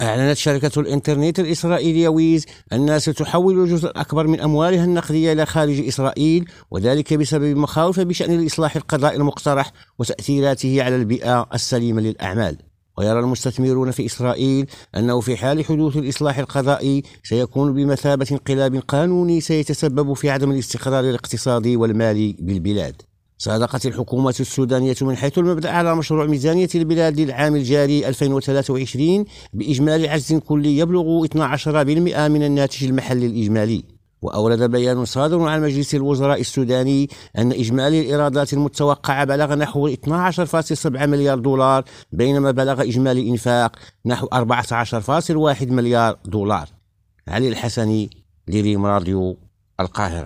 أعلنت شركة الإنترنت الإسرائيلية ويز أنها ستحول الجزء الأكبر من أموالها النقدية إلى خارج إسرائيل، وذلك بسبب مخاوف بشأن الإصلاح القضائي المقترح وتأثيراته على البيئة السليمة للأعمال. ويرى المستثمرون في إسرائيل أنه في حال حدوث الإصلاح القضائي سيكون بمثابة انقلاب قانوني سيتسبب في عدم الاستقرار الاقتصادي والمالي بالبلاد. صادقت الحكومة السودانية من حيث المبدأ على مشروع ميزانية البلاد للعام الجاري 2023 بإجمالي عجز كلي يبلغ 12% من الناتج المحلي الإجمالي. وأورد بيان صادر عن مجلس الوزراء السوداني أن إجمالي الإيرادات المتوقعة بلغ نحو 12.7 مليار دولار، بينما بلغ إجمالي الإنفاق نحو 14.1 مليار دولار. علي الحسني، لريم راديو، القاهرة.